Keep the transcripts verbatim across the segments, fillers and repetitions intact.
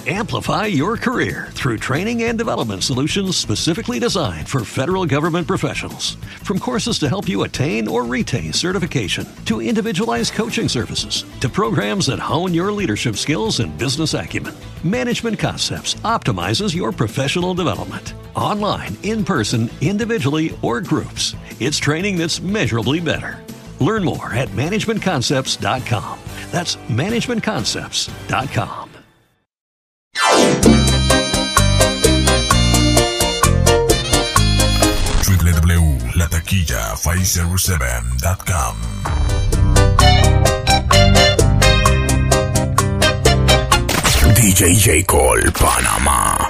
Amplify your career through training and development solutions specifically designed for federal government professionals. From courses to help you attain or retain certification, to individualized coaching services, to programs that hone your leadership skills and business acumen, Management Concepts optimizes your professional development. Online, in person, individually, or groups, it's training that's measurably better. Learn more at management concepts dot com. That's management concepts dot com. w w w punto la taquilla five oh seven dot com. D J J. Cole, Panamá.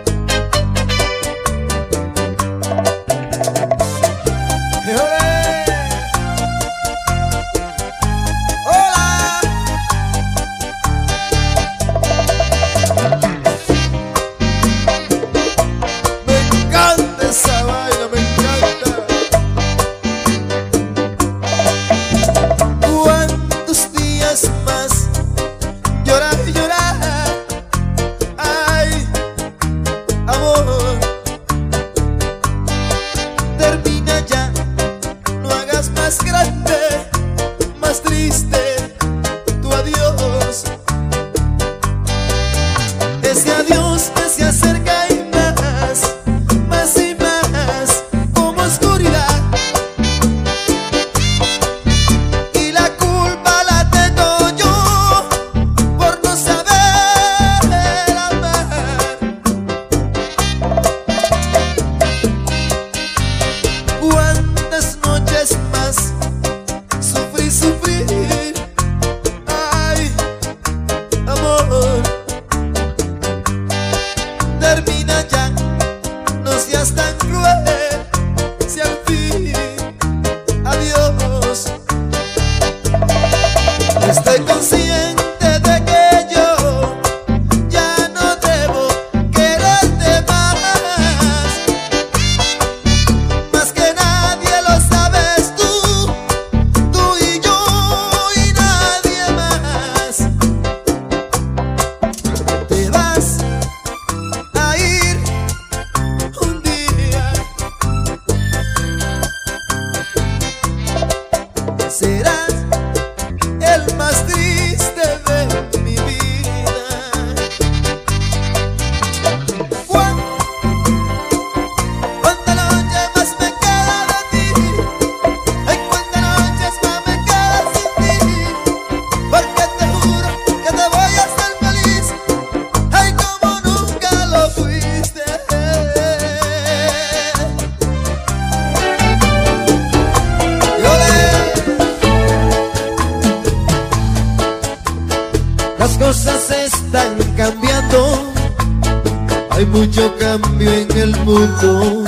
Hay mucho cambio en el mundo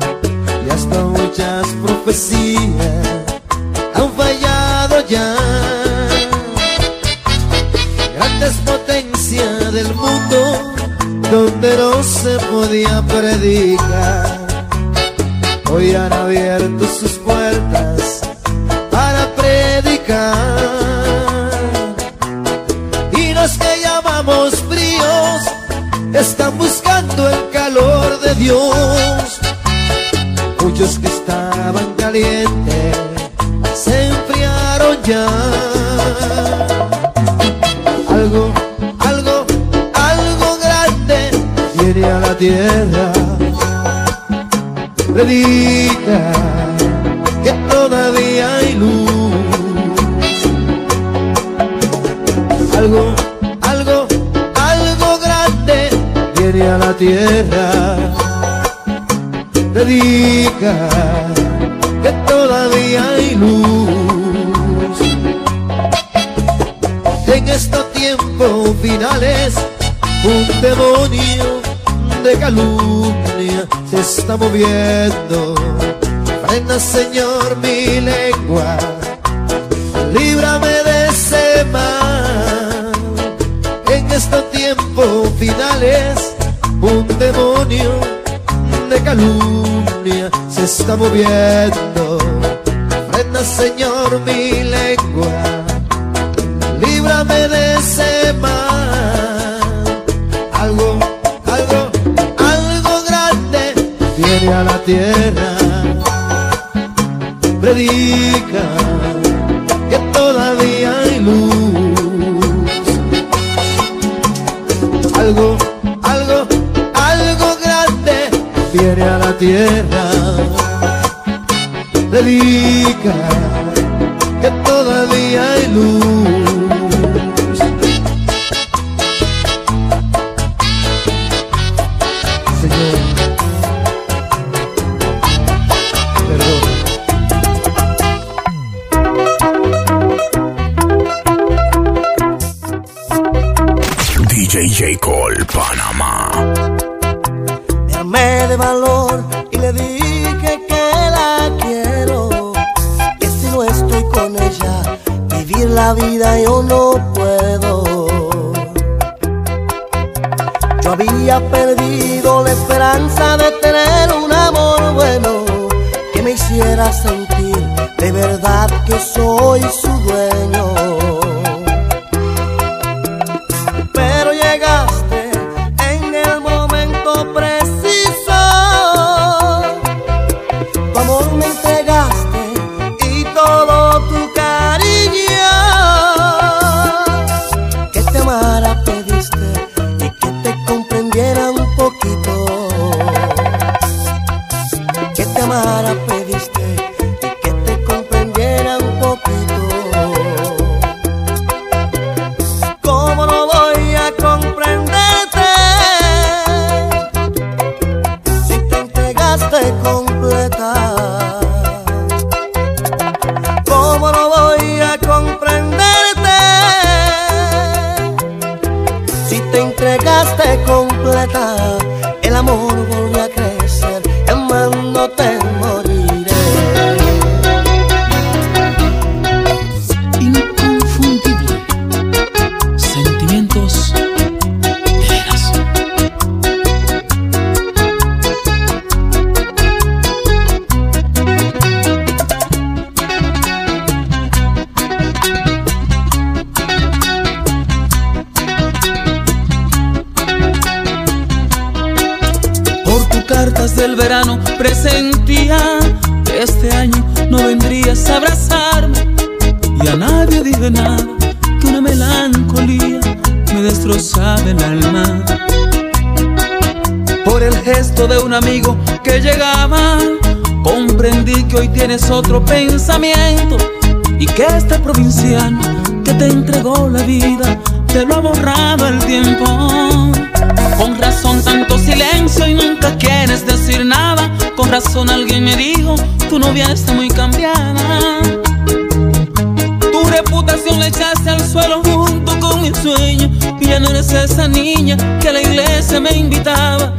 y hasta muchas profecías han fallado ya. Grandes potencias del mundo donde no se podía predicar, hoy han abierto sus puertas para predicar. Y los que llamamos fríos están buscando el calor de Dios. Muchos que estaban calientes se enfriaron ya. Algo, algo, algo grande viene a la tierra. Predica que todavía hay luz. Algo, algo, algo grande viene a la tierra. Predica que todavía hay luz. En estos tiempos finales un demonio de calumnia se está moviendo. Frena, Señor, mi lengua, líbrame de ese mal. En estos tiempos finales un demonio de calumnia se está moviendo. Frena, Señor, mi lengua, líbrame de ese mal. viene a la tierra, predica que todavía hay luz. Algo, algo, algo grande viene a la tierra, predica que todavía hay luz. D J J. Cole, Panamá. Me armé de valor y le dije que la quiero, que si no estoy con ella, vivir la vida yo no puedo. Yo había perdido la esperanza de tener un amor bueno que me hiciera sentir de verdad que soy su dueño. Pero llegaste en el momento preciso, tu amor me entregaste y todo tu cariño, que te amara pediste y que te comprendiera un poquito, que te amara pediste y que te comprendiera un poquito. ¿Cómo no voy a comprenderte si te entregaste completa? ¿Cómo no voy a comprenderte si te entregaste completa? El amor volvió a crecer, amándote moriré. Inconfundible. Sentimientos de veras. Por tus cartas del verano presentía que este año no vendrías a abrazarme, y a nadie dije nada, que una melancolía me destrozaba el alma. Por el gesto de un amigo que llegaba, comprendí que hoy tienes otro pensamiento, y que este provinciano que te entregó la vida te lo ha borrado el tiempo. Con razón tanto silencio y nunca quieres decir nada. Con razón alguien me dijo, tu novia está muy cambiada. Tu reputación la echaste al suelo junto con mi sueño, y ya no eres esa niña que a la iglesia me invitaba.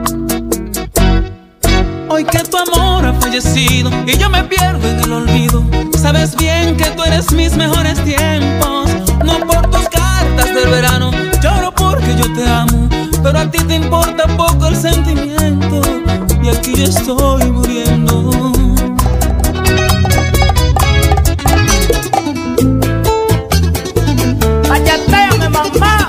Hoy que tu amor ha fallecido y yo me pierdo en el olvido, sabes bien que tú eres mis mejores tiempos. No por tus cartas del verano, lloro porque yo te amo, pero a ti te importa poco el sentimiento, y aquí yo estoy muriendo. ¡Ayatéame, mamá!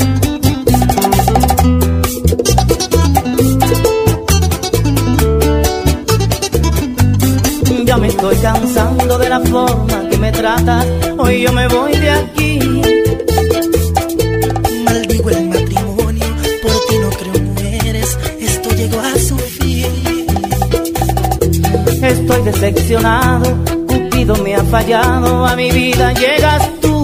Ya me estoy cansando de la forma que me tratas, hoy yo me voy de aquí. Maldigo el matrimonio, por ti no creo mujeres, esto llegó a su fin. Estoy decepcionado, Cupido me ha fallado, a mi vida llegas tú.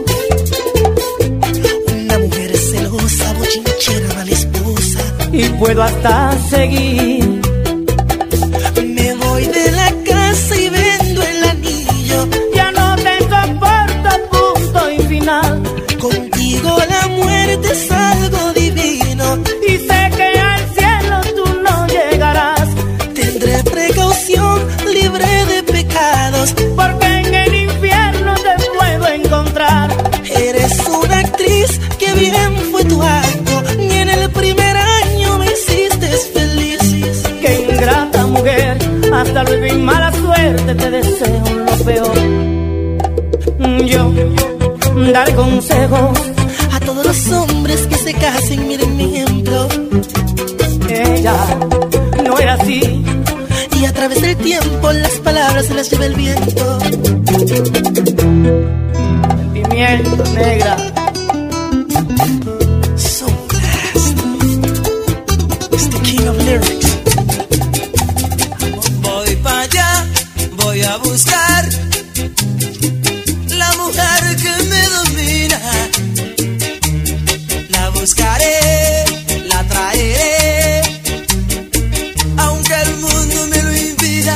Una mujer celosa, bochinchera, mala esposa, Y puedo hasta seguir. me voy de la casa y vendo el anillo. Ya no te soporto, punto y final. Contigo la muerte es algo divino. Y sé que al cielo tú no llegarás, Tendré precaución, libre de pecados, porque en el infierno te puedo encontrar. eres una actriz, que bien fue tu acto, ni en el primer año me hiciste feliz. Qué ingrata mujer, hasta luego y mala suerte, te deseo lo peor. Yo daré consejos A todos los hombres que se casen, miren mi ejemplo. Ella no era así. Y a través del tiempo las palabras se las lleva el viento. Sentimiento, negra. So nasty. It's the king of lyrics. Voy para allá, voy a buscar la mujer que me domina. La buscaré, la traeré, aunque el mundo me lo impida.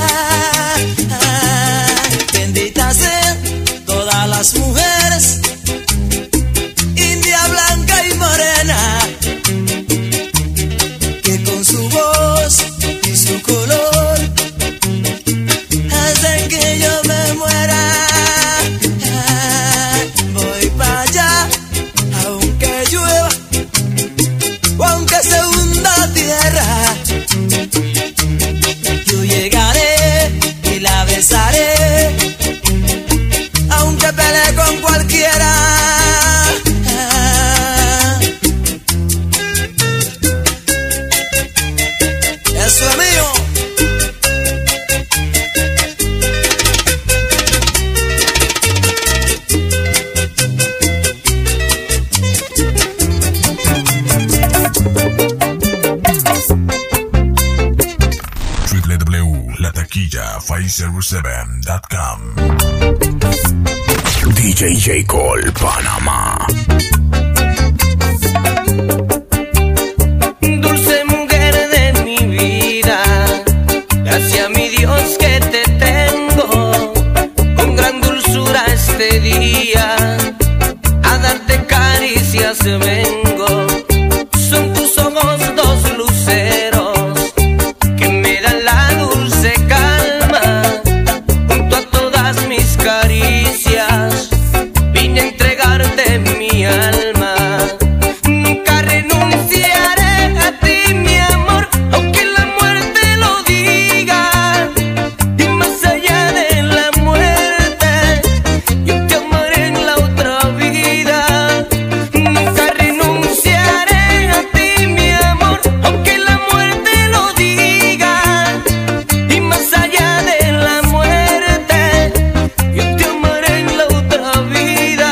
Benditas sean todas las mujeres, india, blanca y morena, que con su voz y su color hacen que yo me muera. Voy para allá, aunque llueva o aunque se hunda tierra, yo llegaré y la besaré, aunque pelee con cualquiera. Eso es mío. w w w punto la taquilla five oh seven punto com. D J J. Cole, Panamá. Dulce mujer de mi vida, gracias a mi Dios que te tengo. Con gran dulzura este día a darte caricias vengo. Son tus ojos dos luceros que me dan la dulce calma. Junto a todas mis caricias vine a entregarte mi alma. Nunca renunciaré a ti, mi amor, aunque la muerte lo diga. Y más allá de la muerte, yo te amaré en la otra vida. Nunca renunciaré a ti, mi amor, aunque la muerte lo diga. Y más allá de la muerte, yo te amaré en la otra vida.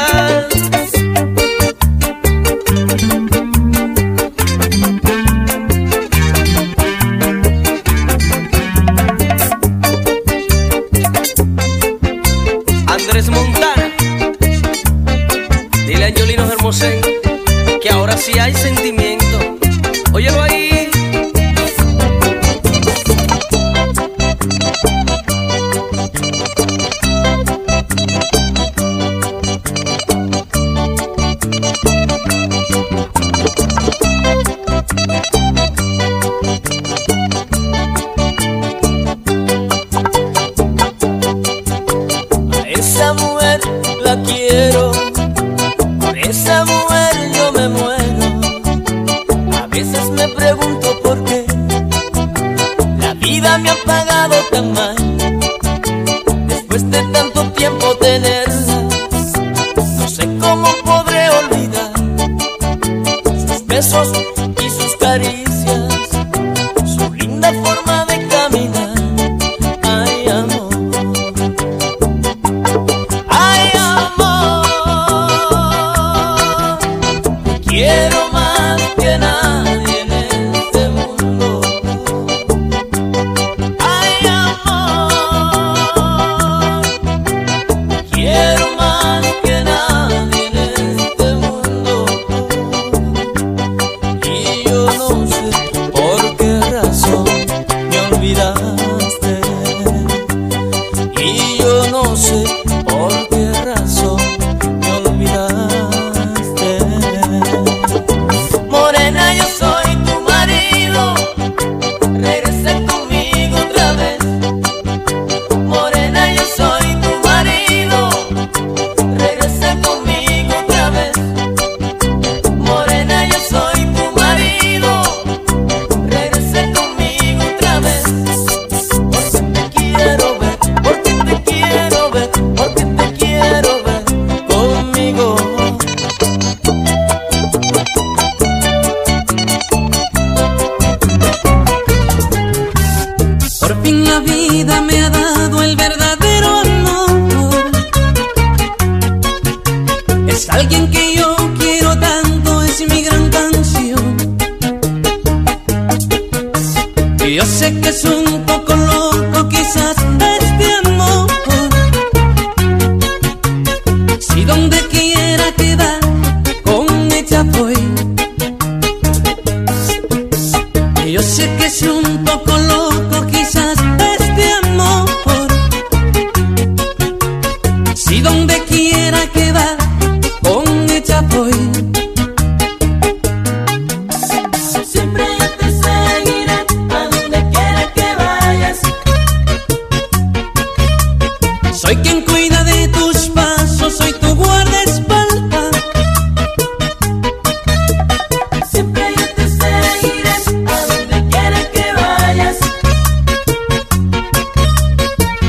Andrés Montana, dile a Angelino Hermosén que ahora sí hay sentimiento. Óyelo ahí. A esa mujer la quiero, por esa mujer yo me muero. A veces me pregunto por qué la vida me ha pagado tan mal. Después de tanto tiempo tenerla, no sé cómo podré olvidar sus besos y sus caricias, su linda forma de caminar. Ay, amor. Ay, amor, te quiero más que nadie en este mundo. Ay, amor, te quiero más que nadie en este mundo. Y yo no sé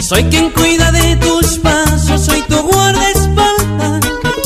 Soy quien cuida de tus pasos, soy tu guardaespaldas.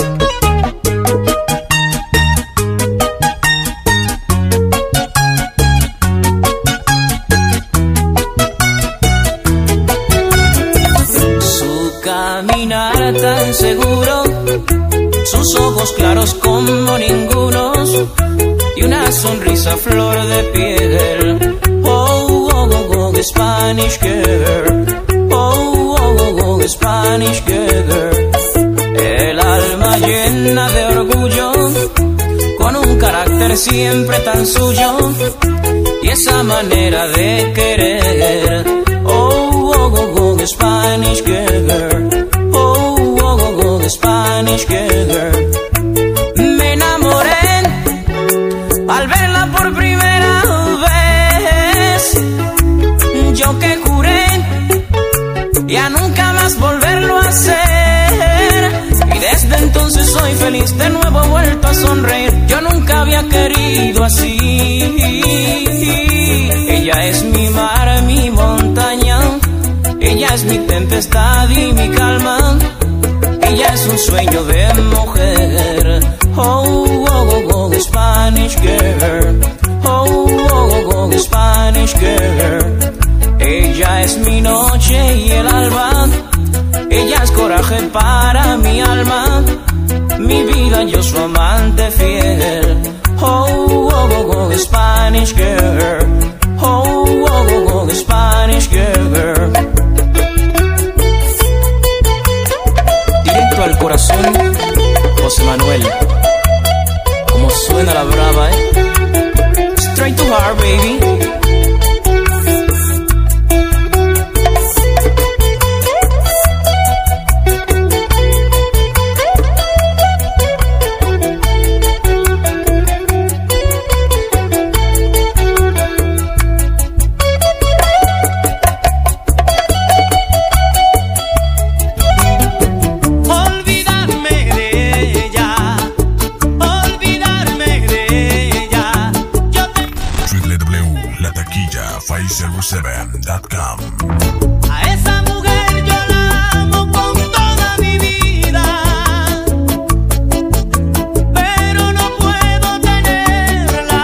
Su caminar tan seguro, sus ojos claros como ningunos y una sonrisa flor de piel. Oh, oh, oh, oh, Spanish girl. Oh, oh, oh, oh, Spanish girl. El alma llena de orgullo, con un carácter siempre tan suyo y esa manera de querer. Oh, oh, oh, oh, Spanish girl. Oh, oh, oh, oh, Spanish girl. Me enamoré al verla por primera vez. Yo que juré ya nunca más volverlo a hacer, y desde entonces soy feliz, de nuevo he vuelto a sonreír. Yo nunca había querido así. Ella es mi mar, mi montaña, ella es mi tempestad y mi calma, ella es un sueño de mujer. Oh, oh, oh, oh, Spanish girl. Oh, oh, oh, oh, Spanish girl. Ella es mi noche y el alba, ella es coraje para mi alma, mi vida, yo su amante fiel. Oh, oh, oh, oh, Spanish girl. Oh, oh, oh, oh, Spanish girl. Directo al corazón, José Manuel. Como suena la brava, eh. Straight to heart, baby. A esa mujer yo la amo con toda mi vida, pero no puedo tenerla.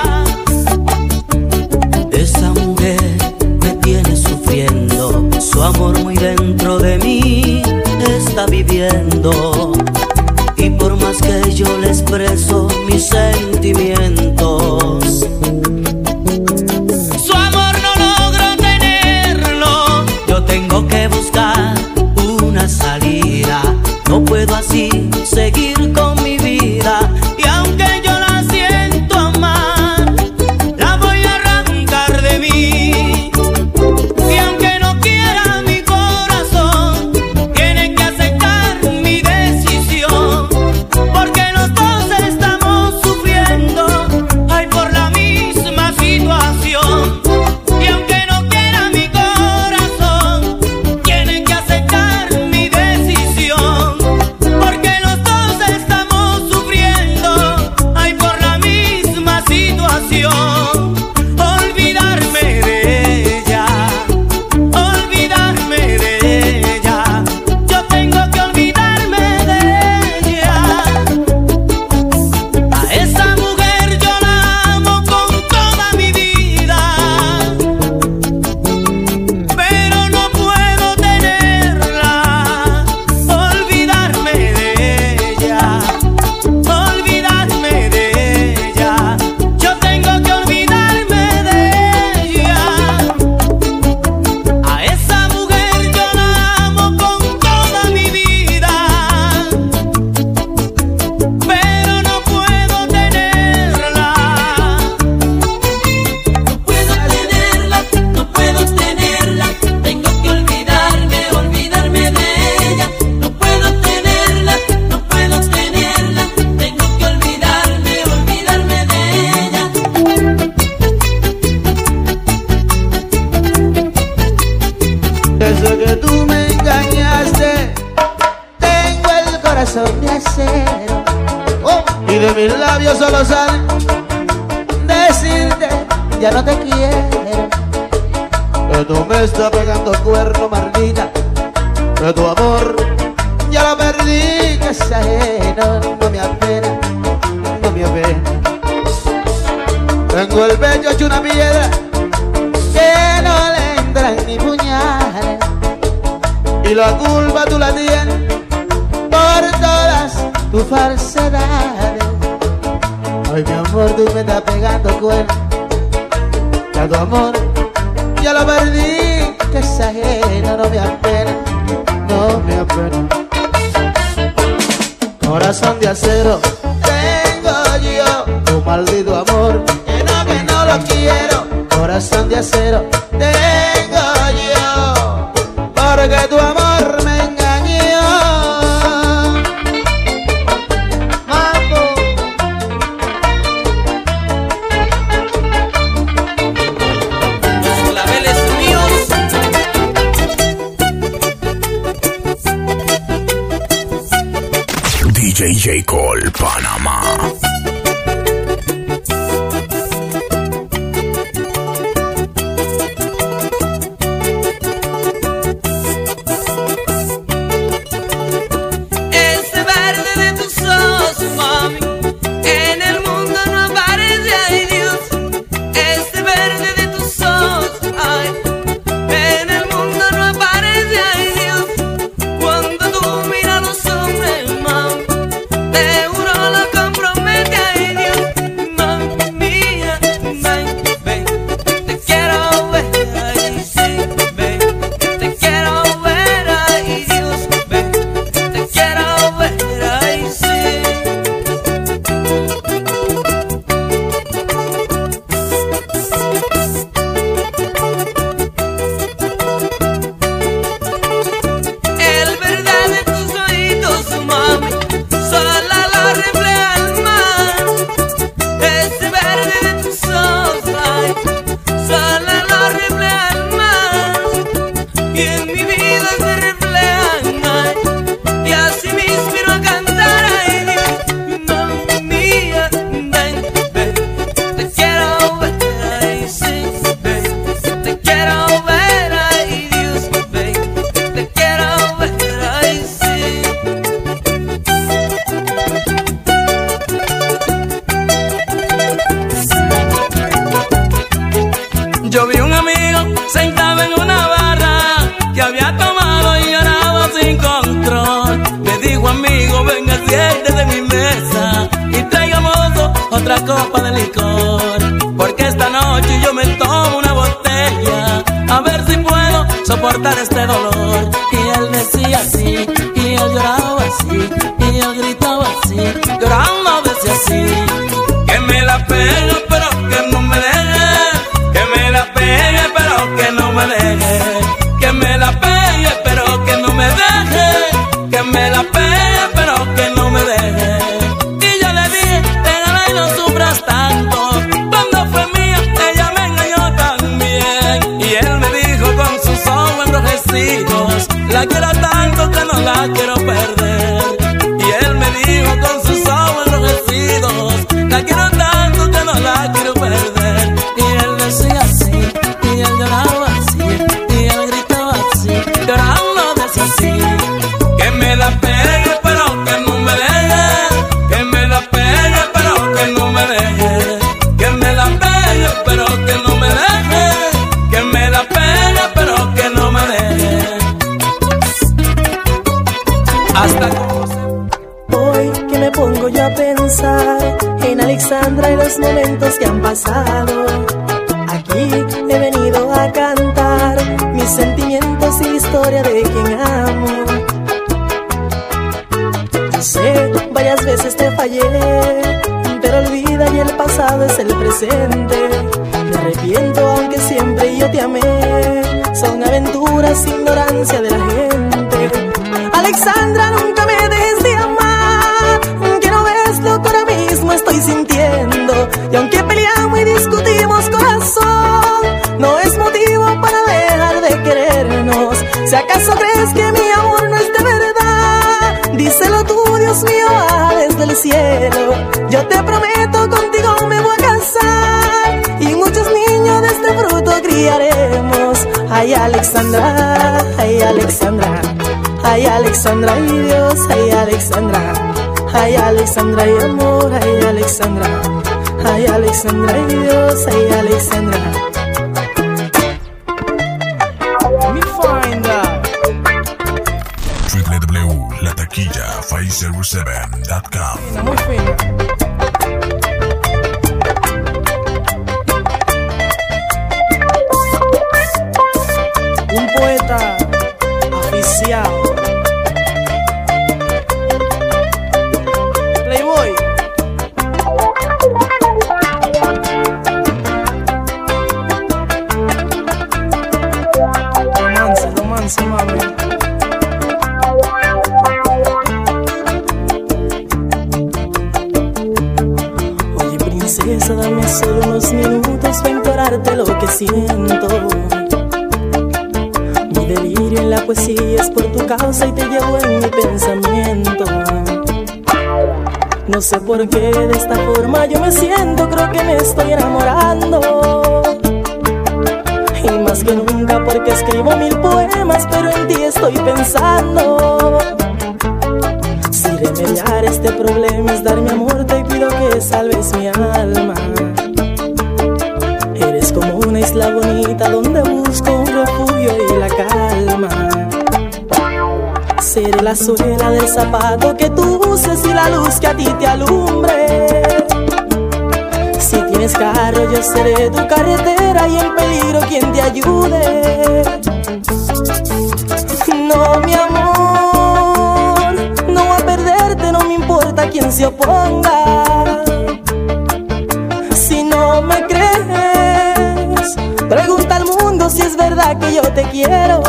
Esa mujer me tiene sufriendo, su amor muy dentro de mí está viviendo, y por más que yo le expreso mis sentimientos, tengo que buscar una salida. No puedo así seguir con mi vida, y aunque yo la siento amar, la voy a arrancar de mí. Y aunque no quiera mi corazón, tiene que aceptar mi decisión, porque los dos estamos sufriendo, ay, por la misma situación. Y aunque no quiera mi corazón, tiene que aceptar mi decisión, porque los dos estamos sufriendo, ay, por la misma situación. Olvidarme de ella, olvidarme de ella, yo tengo que olvidarme de ella. A esa mujer yo la amo con toda mi vida, pero no puedo tenerla. Olvidarme de ella, olvidarme de ella, yo tengo que olvidarme de ella. A esa mujer yo la amo con toda mi vida, pero no puedo tenerla. No puedo tenerla, no puedo tenerla, tengo que olvidarme, olvidarme de ella. No puedo tenerla, no puedo tenerla, tengo que olvidarme, olvidarme de ella. Desde que tú me engañaste, tengo el corazón de acero, oh, y de mis labios solo sale decirte ya no te quiero. que tú me estás pegando cuerno, Marlita, que tu amor ya lo perdí, que es ajeno, no me apena, no me apena. Tengo el pecho hecho una piedra que no le entran ni puñales, y la culpa tú la tienes por todas tus falsedades. Ay, mi amor, tú me estás pegando cuerno, que tu amor ya lo perdí, que es ajeno, no me apena, no me apena. Corazón de acero tengo yo, tu maldito amor, que no, que no lo quiero. Corazón de acero tengo yo, porque tu amor me engañó. Mambo. Los claveles míos. D J J. Cole, Panamá. Ese verde de tus ojos, mami, en el mundo no aparece, ay Dios. Ese verde de tus ojos, ay, en el mundo no aparece, ay Dios. Cuando tú miras a los hombres, mami, te juro lo compromete, ay Dios. Mami mía, ven, ven, te quiero ver, ay sí, ven, te quiero ver, ay Dios, ven, te quiero ver, ay sí. El verdad de tus oídos, mami, solo lo refleja el mar. Ese verde de tus ojos, ay, solo lo refleja el mar. Y en mi vida se reflejan, ay, y así me inspiro a cantar, ay Dios. Mami mía, ven, ven, te quiero ver, ay sí, ven, te quiero ver, ay Dios, ven, te quiero ver, ay sí. Yo vi un amigo sentado en una barra que había tomado y lloraba sin control. Me dijo, amigo, venga, siéntese de mi mesa y traigamos otra copa de licor, porque esta noche yo me tomo una botella a ver si puedo soportar este dolor. Y él decía así, y él lloraba así, y él gritaba así, llorando decía así: que me la pegue pero que no me deje, que me la pegue pero que no me deje, que me la pegue pero que no me deje, que me la pegue pero que no me deje. Y yo le dije, déjala y no sufras tanto, cuando fue mía ella me engañó también. Y él me dijo con sus ojos enrojecidos, la quiero tanto que no la quiero perder. Y él me dijo con sus ojos enrojecidos, la quiero tanto que no la quiero perder. Y él decía así, y él lloraba así, y él gritaba así, llorando decía así: que me la pegue pero que no me deje, que me la pegue pero que no me deje, que me la pegue pero que no me deje, que me la pegue pero que no me deje. Hasta hoy que me pongo yo a pensar en Alexandra y los momentos que han pasado, aquí he venido a cantar mis sentimientos y la historia de quien amo. Yo sé, varias veces te fallé, pero olvida y el pasado es el presente. Me arrepiento aunque siempre yo te amé, son aventuras, ignorancia de la gente. Alexandra, nunca me dejes de amar, que no ves lo que ahora mismo estoy sintiendo. Y aunque peleamos y discutimos, corazón, no es motivo para dejar de querernos. Si acaso crees que mi amor no es de verdad, díselo tú, Dios mío, baja desde el cielo. Yo te prometo, contigo me voy a casar y muchos niños de este fruto criaremos. Ay, Alexandra, ay, Alexandra, ay, Alexandra, ay, Dios, ay, Alexandra, ay, Alexandra, ay, amor, ay, Alexandra, ay, Alexandra, ay, Dios, ay, Alexandra. Let me find out. w w w punto la taquilla five oh seven punto com. Muy fina. Un poeta aficiado. Playboy. Romance, romance, mami. Oye, princesa, dame solo unos minutos para implorarte lo que siento. Mi delirio en la poesía es por tu causa y te llevo en mi pensamiento. No sé por qué de esta forma yo me siento, creo que me estoy enamorando. Y más que nunca porque escribo mil poemas, pero en ti estoy pensando. Si remediar este problema es dar mi amor, te pido que salves mi alma. Eres como una isla bonita donde busco un refugio y la calma. Seré la suela del zapato que tú uses y la luz que a ti te alumbre. Si tienes carro yo seré tu carretera y en peligro quien te ayude. No, mi amor, no voy a perderte, no me importa quién se oponga. Si no me crees, pregunta al mundo si es verdad que yo te quiero.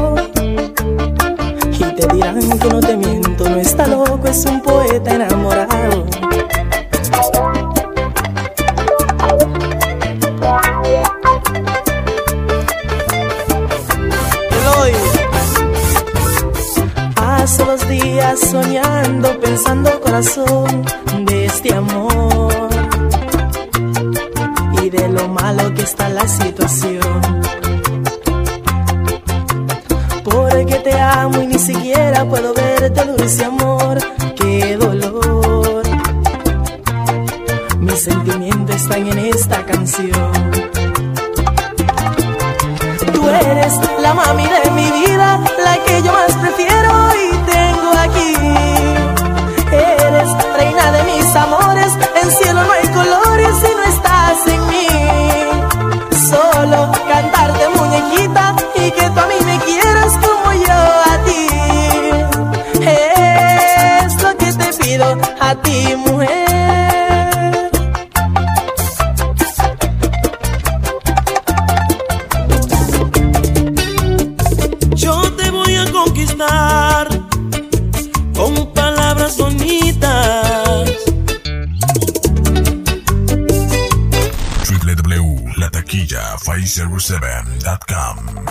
Y te dirán que no te miento, no está loco, es un poeta enamorado. Eloy. Hace dos días soñando, pensando corazón de este amor y de lo malo que está la situación. Porque te amo y ni siquiera puedo verte, dulce amor, qué dolor. Mis sentimientos están en esta canción. Tú eres la mami de mi vida, la que yo más prefiero y tengo aquí. Eres reina de mis amores, en cielo no hay colores si no estás en mí. Solo cantarte muñequita y que tú a mí me quieras como yo a ti. Es lo que te pido a ti, mujer. Yo te voy a conquistar con palabras bonitas. w w w punto la taquilla five oh seven punto com.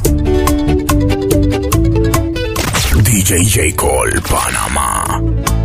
D J J. Cole, Panamá.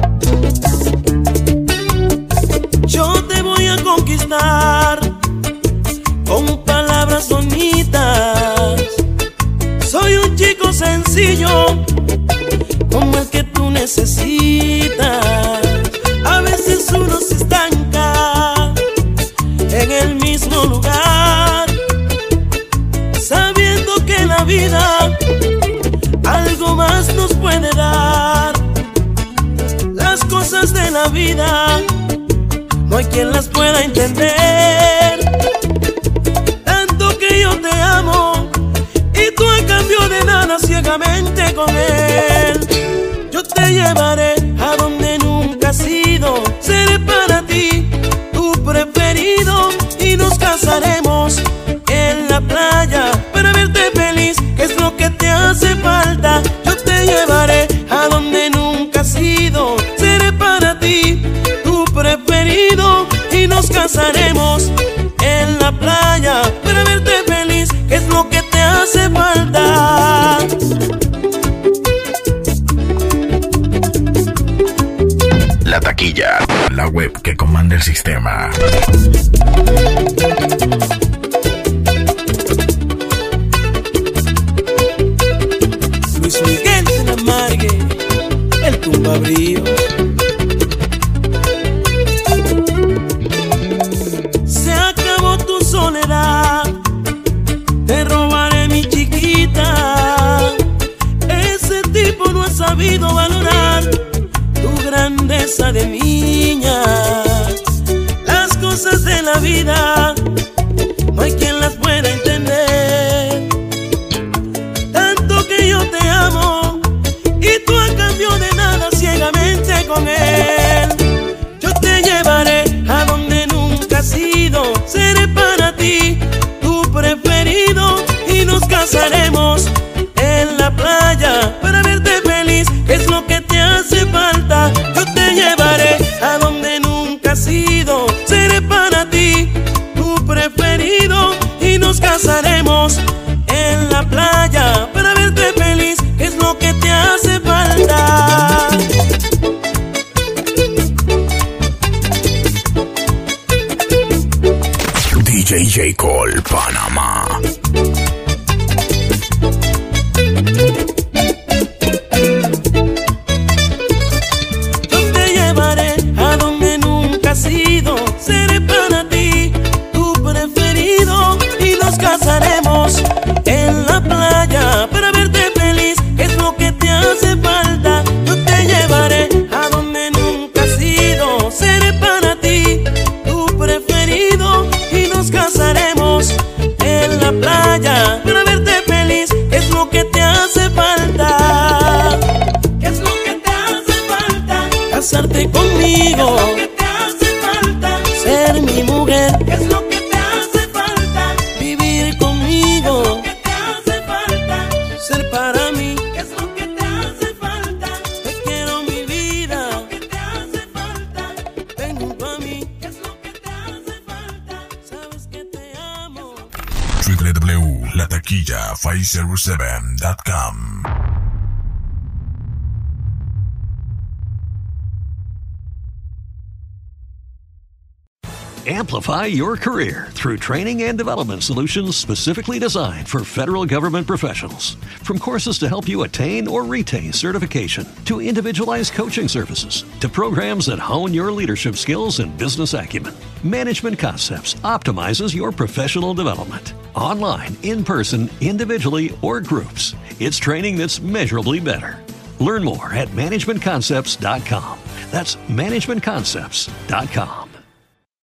Yo te voy a conquistar con palabras bonitas. Soy un chico sencillo como el que tú necesitas. A veces uno se estanca en el mismo lugar, sabiendo que la vida algo más nos puede dar. Las cosas de la vida no hay quien las pueda entender. Tanto que yo te amo y tú a cambio de nada ciegamente con él. Yo te llevaré a donde nunca has ido. Seré para ti tu preferido y nos casaremos en la playa para verte feliz, que es lo que te hace falta. Yo te llevaré a donde nunca has ido. Seré para ti tu preferido y nos casaremos en la playa para verte feliz, que es lo que te hace falta. La taquilla, la web que comanda el sistema. grandeza de niña. Las cosas de la vida no hay quien las pueda entender. Tanto que yo te amo y tú a cambio de nada ciegamente con él. Yo te llevaré a donde nunca has ido. Seré para ti tu preferido y nos casaremos en la playa para verte feliz, que es lo que te hace falta. Yo te llevaré a donde nunca has ido. Seré para ti tu preferido y nos casaremos en la playa para verte feliz, que es lo que te hace falta. D J J. Cole, Panamá. Yo te llevaré a donde nunca has ido. Seré para ti tu preferido y nos casaremos en la playa para verte feliz, que es lo que te hace falta. Yo te llevaré a donde nunca has ido. Seré para ti tu preferido y nos casaremos en la playa para verte feliz, que es lo que te hace falta. ¿Qué es lo que te hace falta? Casarte conmigo. ¿Qué es lo que te hace falta? Ser mi mujer. ¿Qué es lo que te hace falta? Vivir conmigo. ¿Qué te hace falta? Ser para mí. ¿Qué es lo que te hace falta? Te quiero mi vida. ¿Qué te hace falta? Ven junto a mí. ¿Qué es lo que te hace falta? Sabes que te amo. w w w punto la taquilla five oh seven punto com. Amplify your career through training and development solutions specifically designed for federal government professionals. From courses to help you attain or retain certification, to individualized coaching services, to programs that hone your leadership skills and business acumen, Management Concepts optimizes your professional development. Online, in person, individually, or groups, it's training that's measurably better. Learn more at management concepts dot com. That's management concepts dot com.